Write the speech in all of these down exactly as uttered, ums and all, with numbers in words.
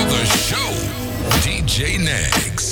the show, D J Nags.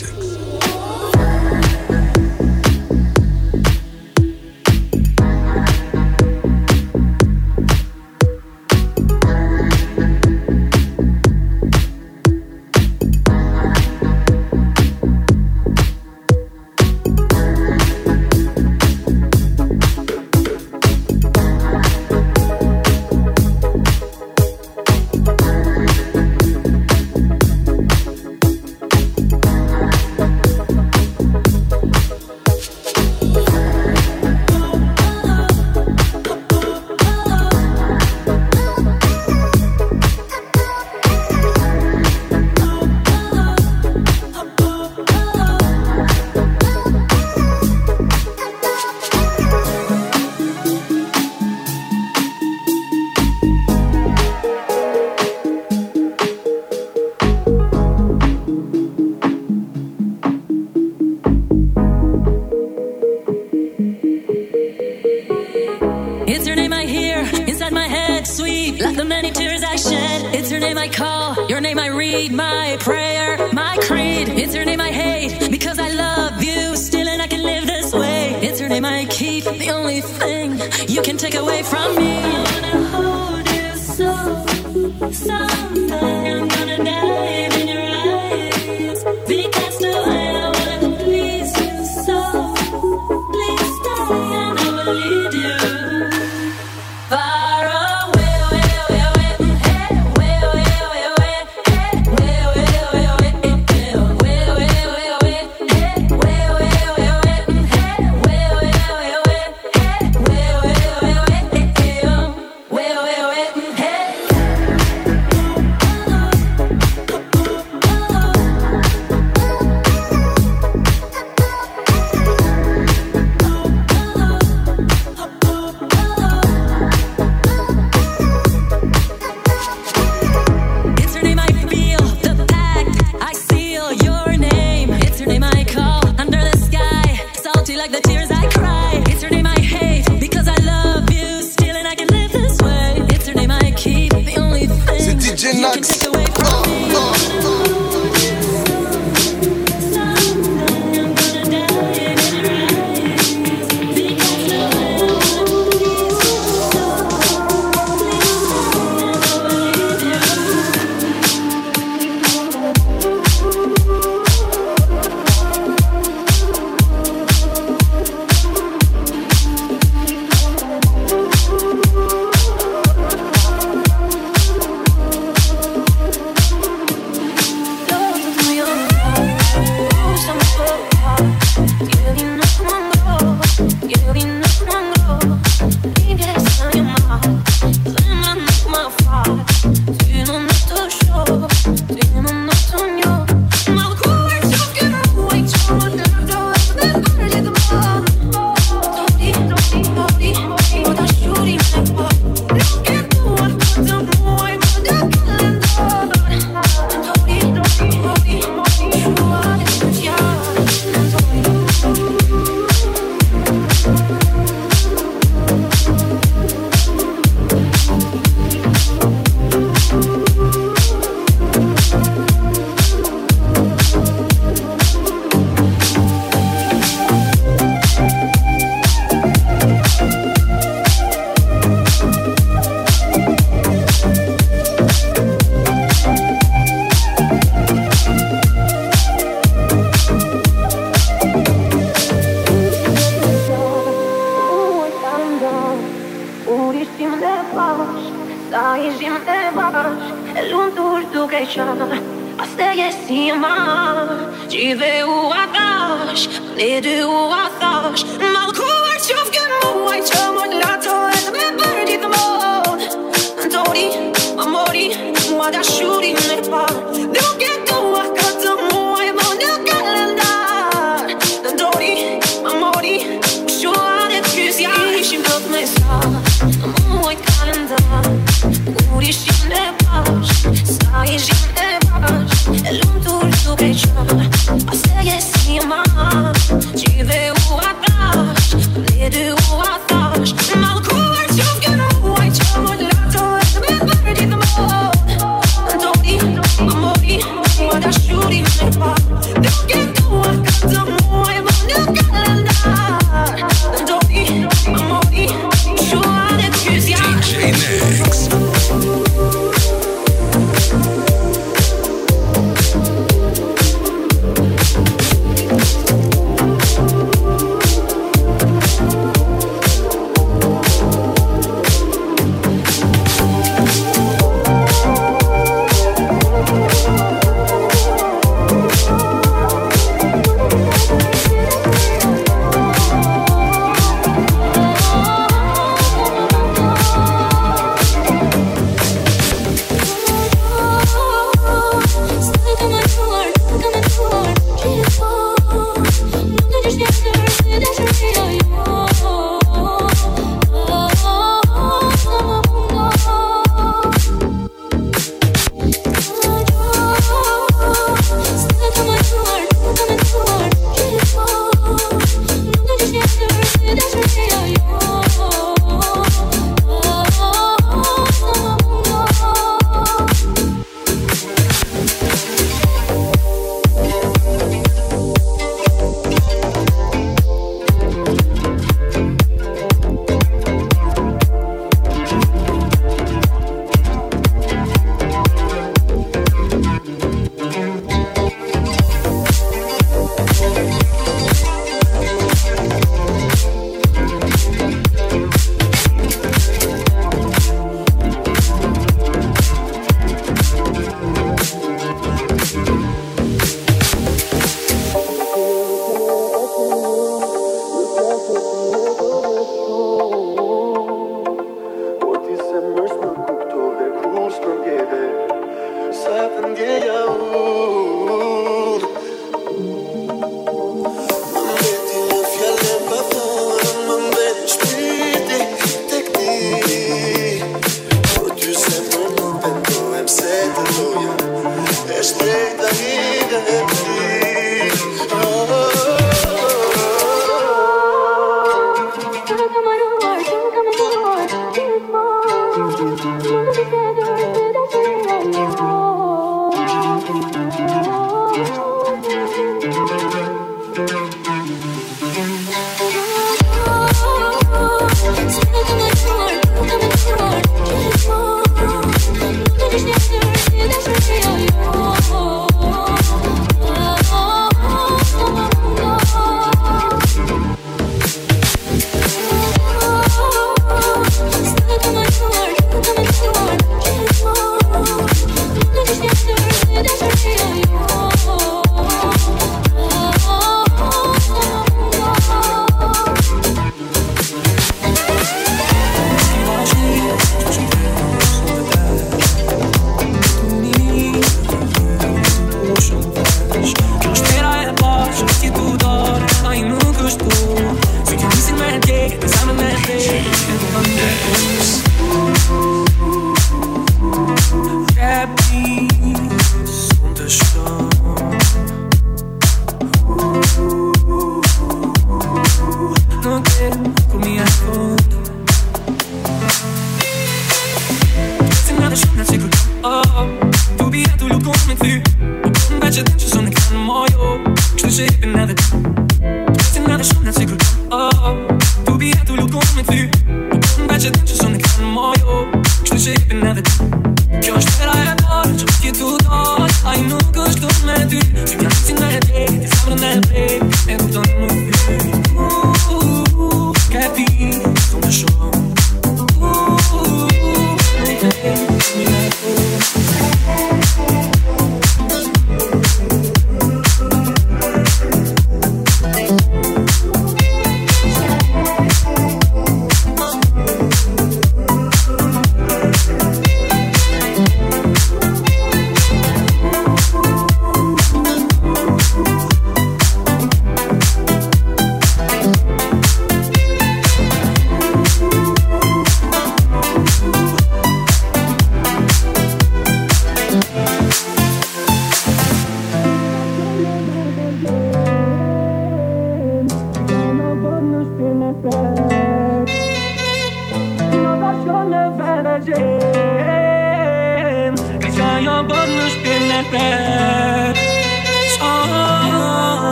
Amori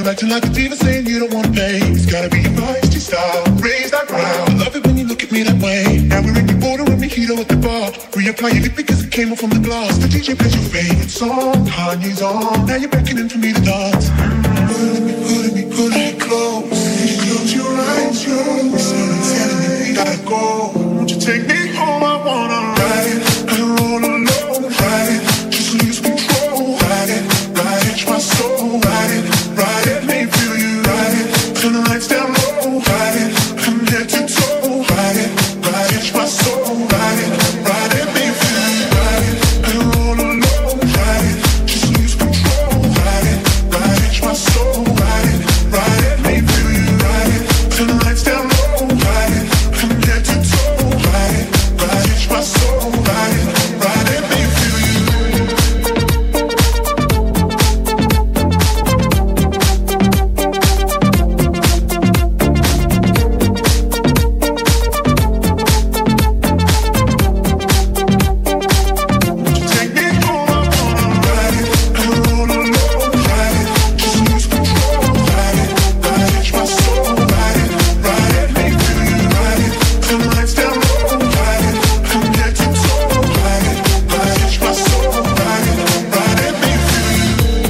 You're acting like a diva saying you don't wanna pay. It's gotta be your feisty style. Raise that ground. I love it when you look at me that way. Now we're in the border with mojito at the bar. Reapply your lip because it came off from the glass. The D J plays your favorite song. Kanye's on. Now you're beckoning for me to dance. Pulling me, pulling me, pulling me close. Close your eyes, your eyes. Telling me we gotta go. Won't you take me home? I wanna ride it. I don't roll alone. Ride it. Just lose control. Ride it. Ride it. My soul. Ride it. Ride it. Let me feel you. Ride it. Turn the lights down low. Ride it. From head to toe. Ride it. Ride it. My soul. Ride it. Ride it. Let me feel you. Ride it. I don't roll alone. Ride it. Just lose control. Ride it. Ride it. My soul. Ride it. Ride it. Let me feel you. Ride it. Turn the lights down low. Ride it. From head to toe. Ride it. Ride it. My soul. Ride it. Ride it. Let me feel you. Take me home, I wanna ride it. I don't roll alone, ride it. Just lose control, ride it. Ride it, my soul, ride it. Ride it, make me feel you, ride it. Turn the lights down low, ride it. From head to toe, ride it. Ride it, my soul, ride it. Ride it, make me feel you.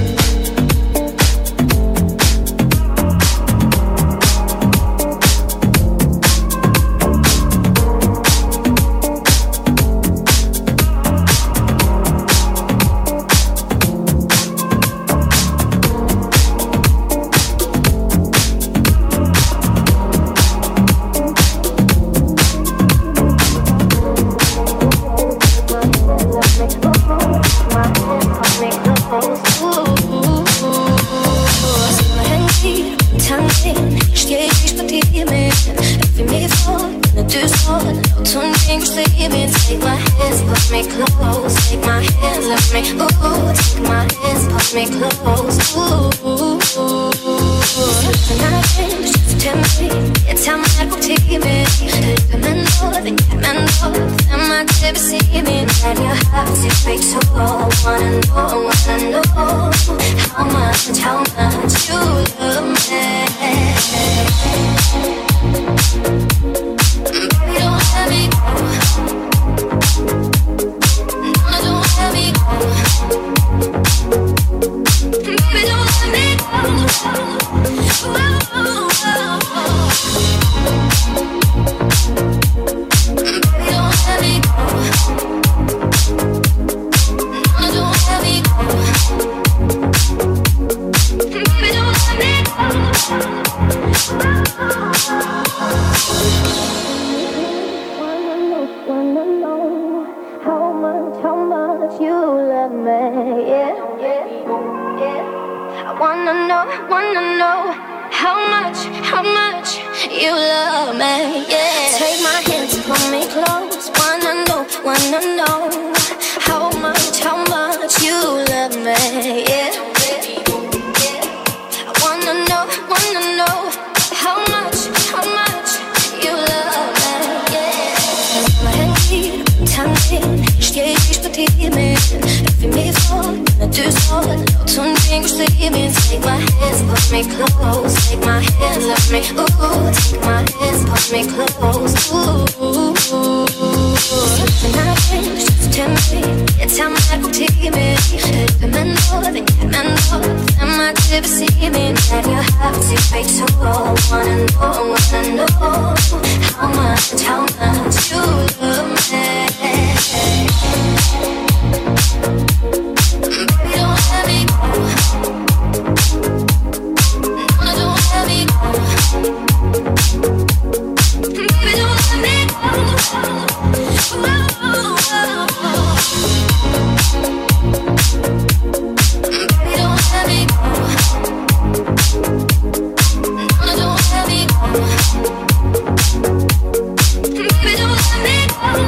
Steh ich bei dir mit, lauf wie mir vor, ne Tür vor, laut und Ding steh mir. Take my hands, push me close. Take my hands, let me, ooh. Take my hands, push me close, ooh. Something just tell me, jetzt haben wir gut hier mit. Hilfe mir nur, wir kennen nur, wenn man dir besehen will. Let your heart take me to, wanna know, wanna know how much, how much you love me. Baby, don't let me go. No, don't let me go. Baby, don't let me go. Oh, oh, oh, oh. Baby, don't let me go. No, don't let me go. Baby, don't let me go. Wanna know how much, how much you love me, yeah, yeah, yeah. I wanna know, wanna know how much, how much you love me, yeah. Take my hands and pull me close. Wanna know, wanna know how much, how much you love me, yeah, yeah, yeah. I wanna know, wanna know how much, how much you love me, yeah. Tanzen, steh ich bei dir mit. Lauf wie mir vor, ne Tür vor, laut und Ding steh mir. Take my hands, push me close. Take my hands, let me, ooh. Take my hands, push me close, ooh. Something just tell me, jetzt haben wir gut hier mit. Hilfe mir nur, wir kennen nur, wenn man dir besehen will. Let your heart take me to, wanna know, wanna know how much, how much you love me. Baby, don't let me go. No, don't let me go. Baby, don't let me go. Oh, oh, oh. Baby, don't let me go. No, don't let me go. Baby, don't let me go.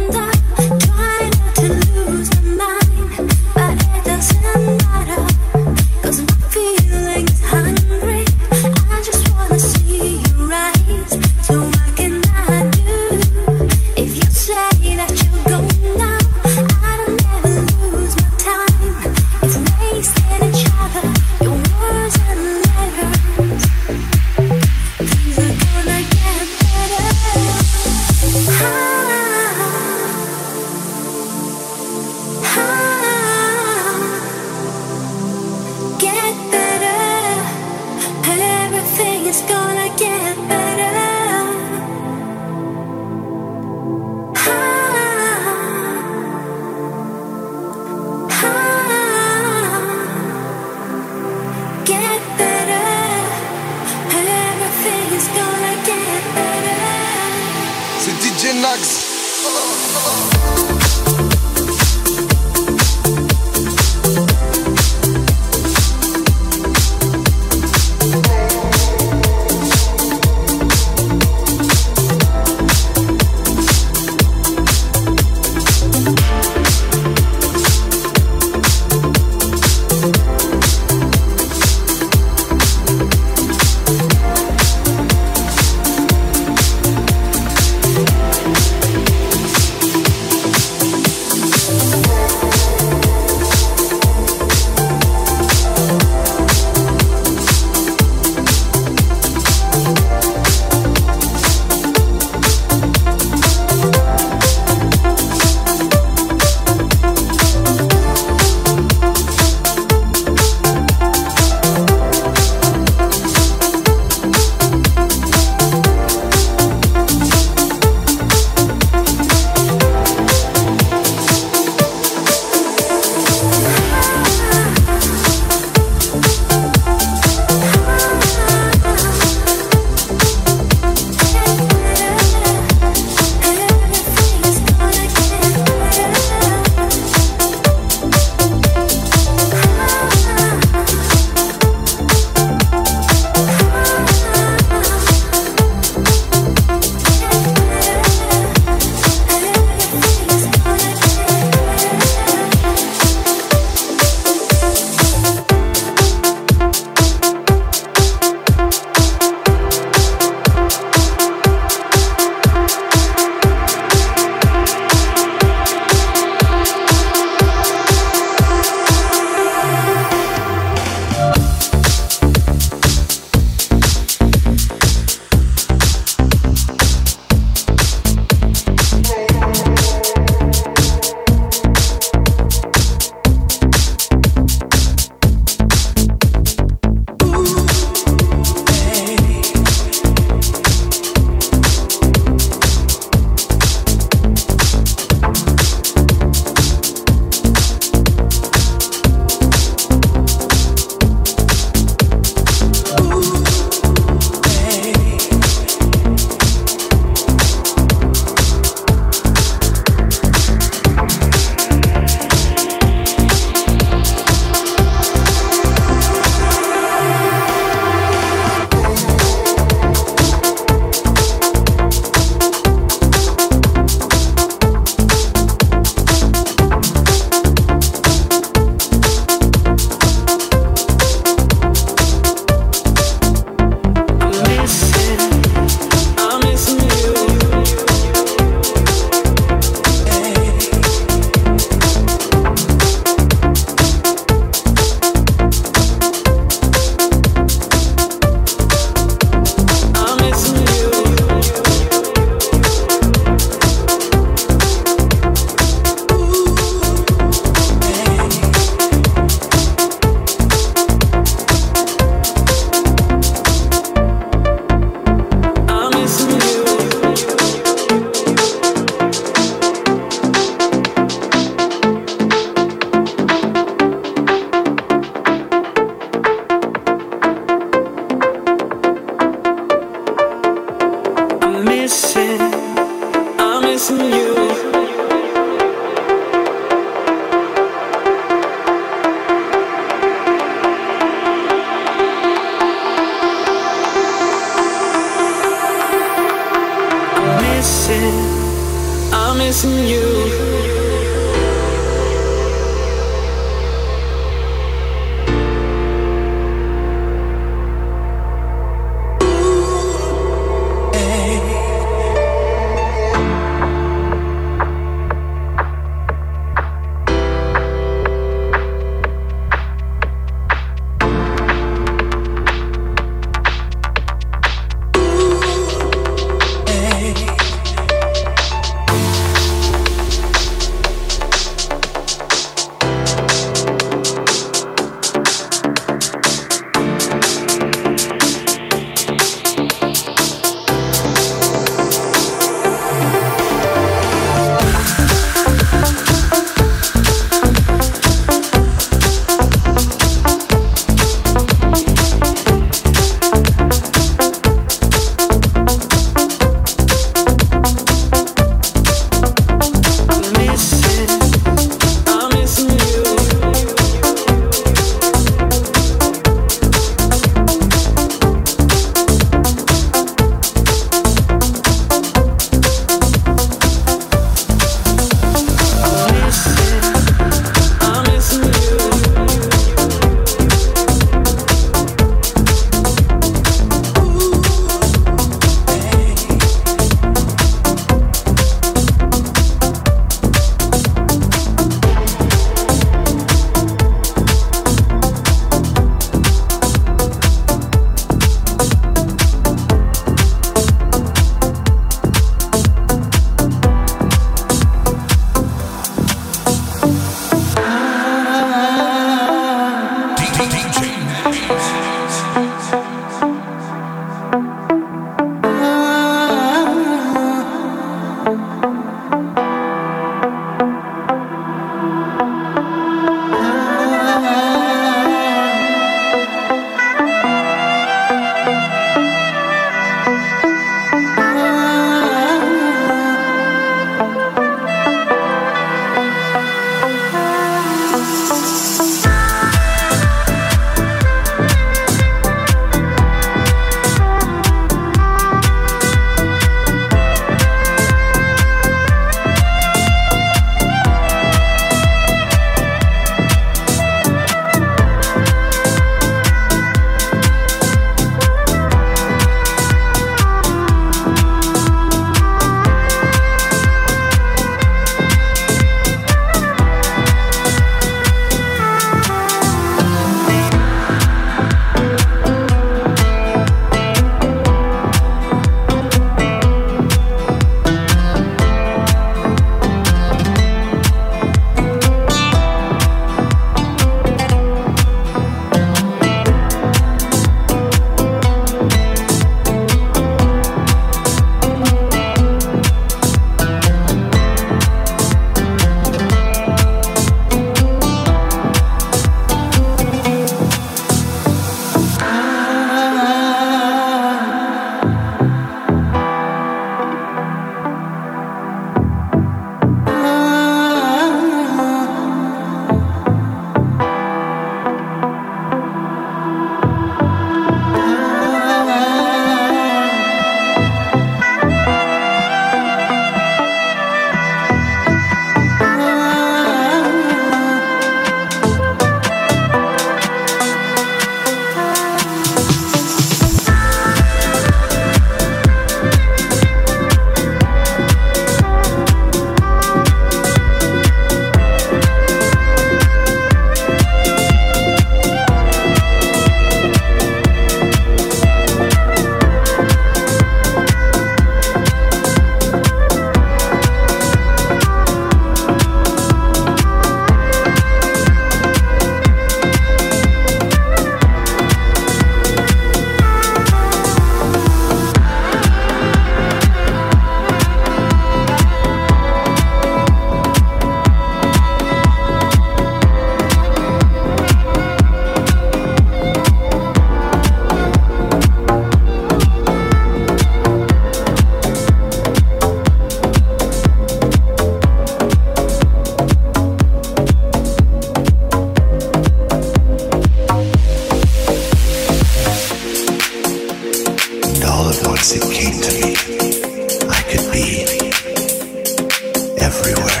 once it came to me, I could be everywhere.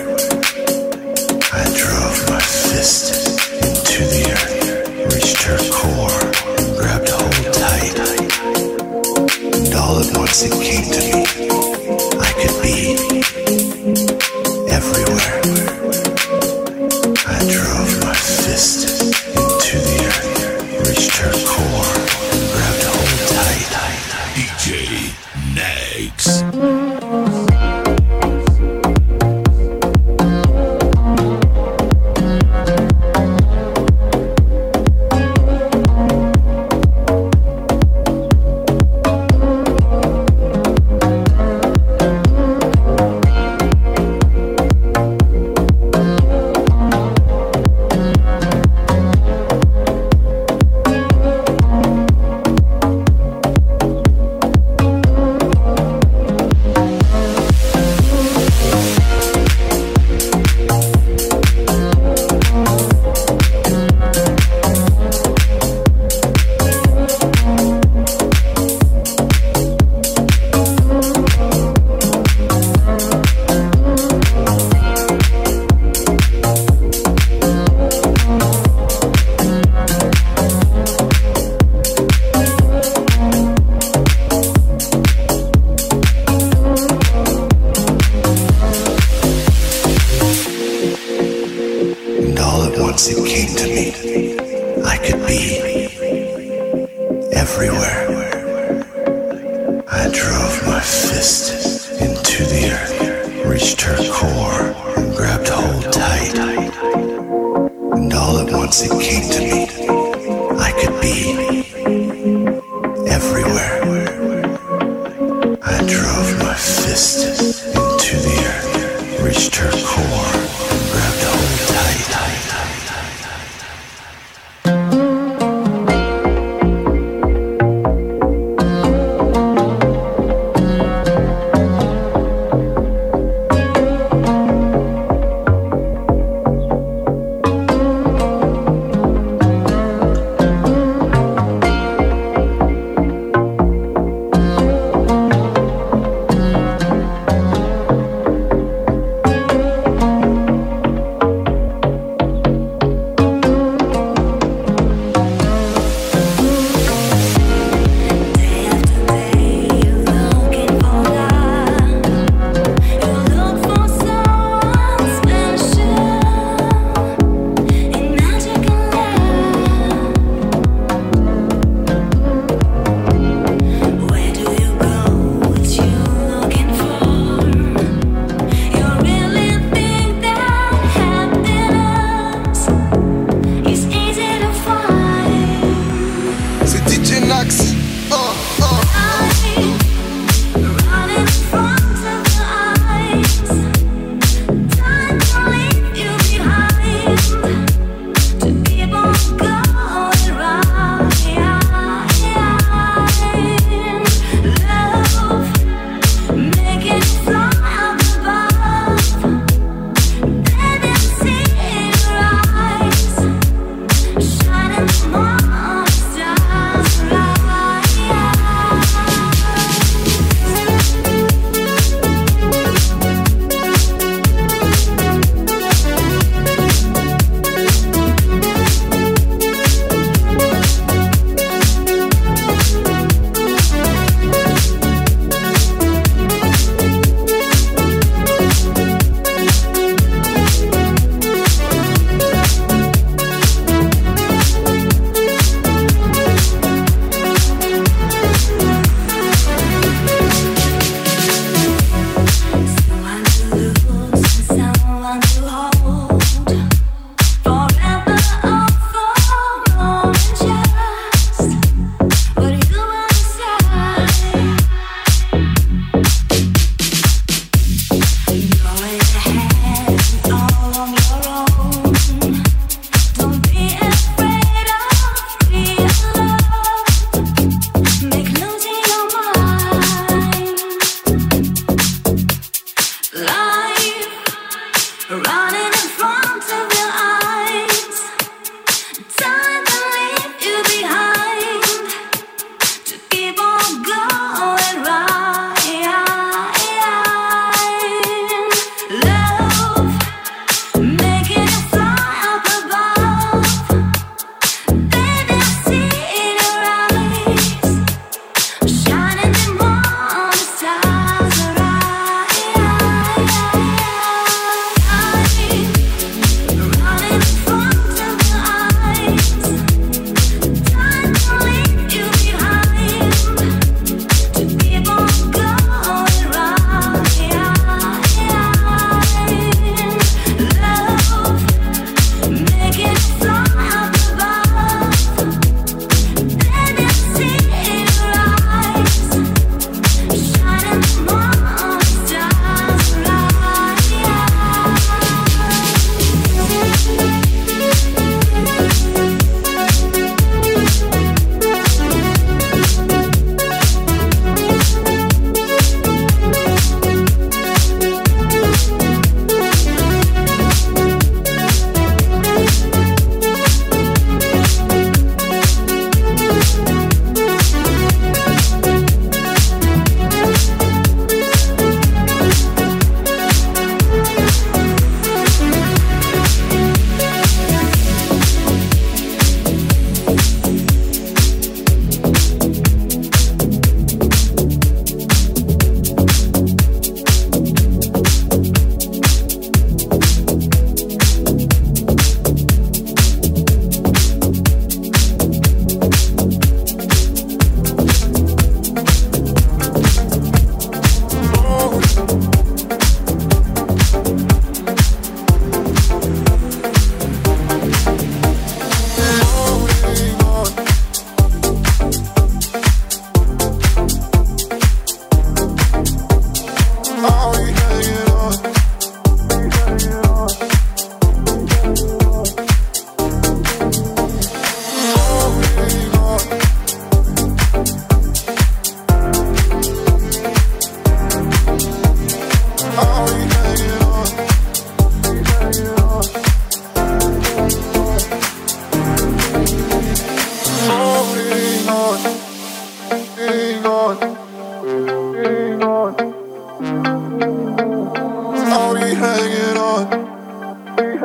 I drove my fist into the earth, reached her core, grabbed hold tight. And all at once it came to me, I could be everywhere. I drove my fist into the earth, reached her core, grabbed hold tight. D J Nags. Shining more stars.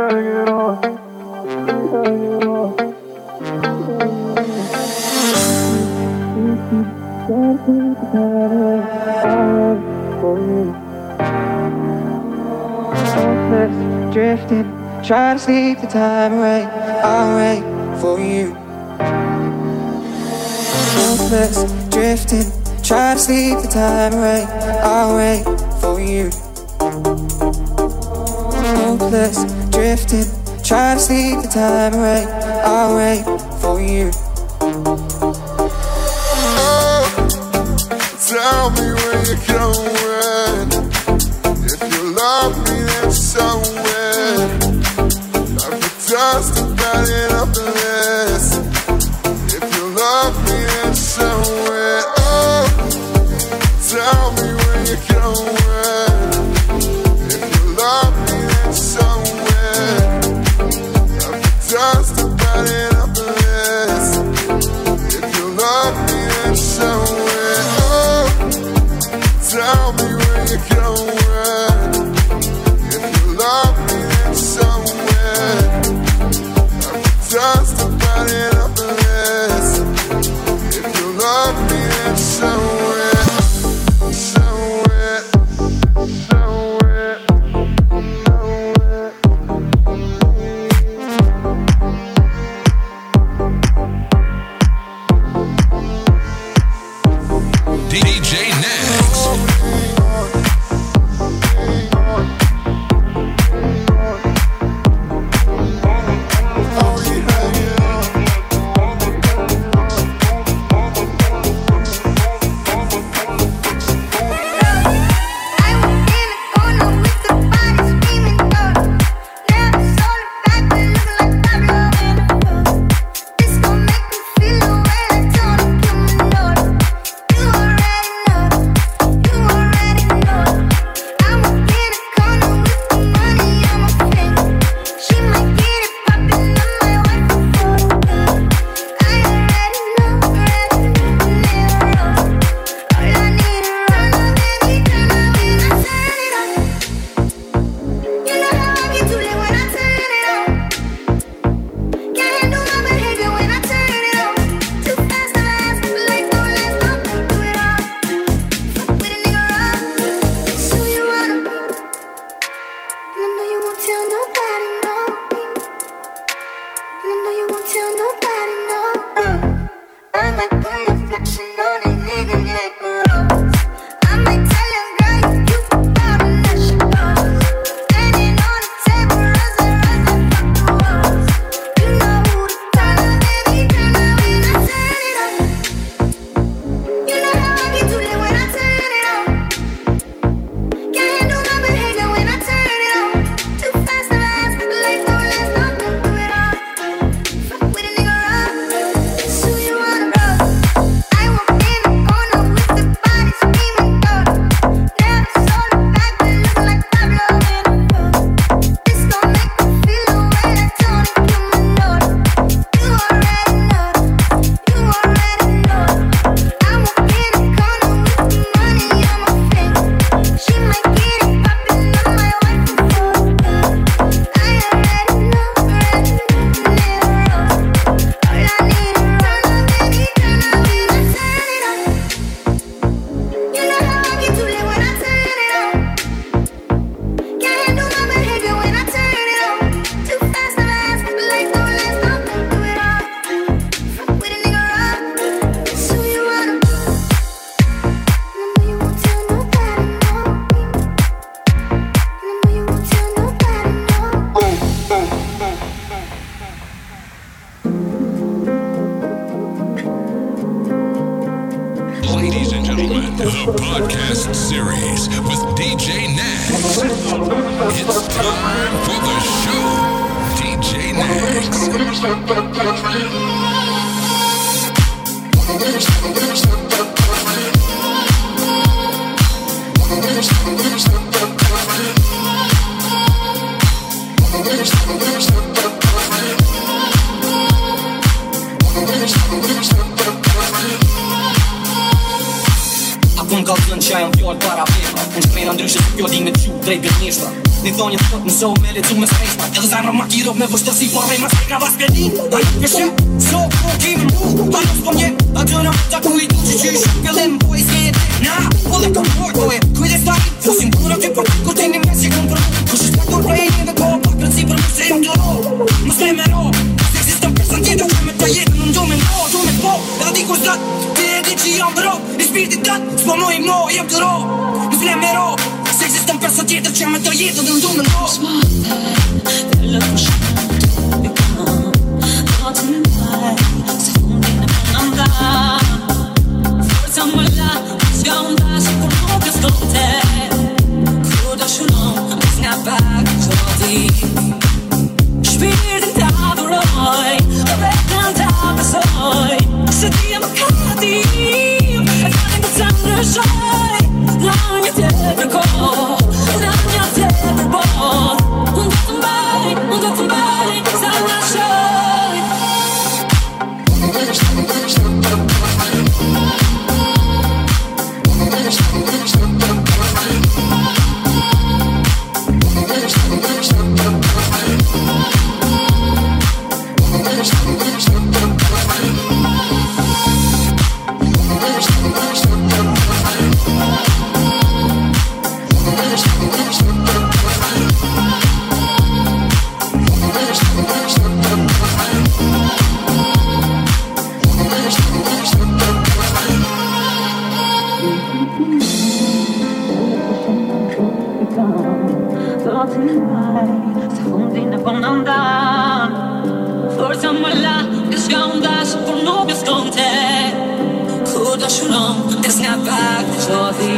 Drifting, trying to sleep the time away. I'll wait for you. Hopeless, drifting, trying to sleep the time away. I'll wait for you. Hopeless, drifting, trying to sleep the time away. I'll wait for you. Oh, tell me where you're going. If you love me, then so will. Just about it up the list. If you love me, then show it. Oh, tell me where you're going. If you love me, then show it. Just about it up the list. If you love me, then show it. Oh, tell me where you're going. If you love me, then show it. Just about it up the list. If you love me, then show it. Show it. Show it. D J Next. The podcast series with D J Next. It's time for the show. D J Next. Acum calzând ceai în fior doar avem. În spre Andrei și eu din mețiu, trei pe niște. Një thonjë të më so me lecu me s'pejt Edhe zemra ma kiro me vështërsi Po rej ma s'pejt nga vas pjellin A nuk peshe, so po kemi mu A nuk s'po mje, a të në ta ku i du që qysh Pjellim po i s'ke jetë Na, po dhe kom mor, po e kujdes ta i Fosim puna ty për ty kur t'ini me si kom për Kush është faktor për e një dhe ko Pak rëndësi për mu se jam të ro Më s'me me ro Se existën person tjetër që me të jetë Në ndu me no, du me po Edhe di kur zlat Ti e di që jam të ro I spirtit gat S'po mo i mo, jem të ro Më s'me me ro Se existën person tjetër që me të jetë Dhe në ndu me no S'ma dhe lë shumë Të kam Do të në mbaj Se fundin e për në nda Forza më la S'ka unë dash Kur nuk e s'kote Kur do shunon Mes nga pak të di Shpirtin të adhuroj Dhe vetën të besoj Se ti e më katim E fatin të të ndryshoj Ranja të përko Ranja të përbot Unë do të mbaj Unë do të mbaj Sa nga shoj Forza më la, e s'ka unë dash, por nuk e s'konte Kur do shunon, e s'nga pak të qodhi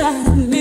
inside of me.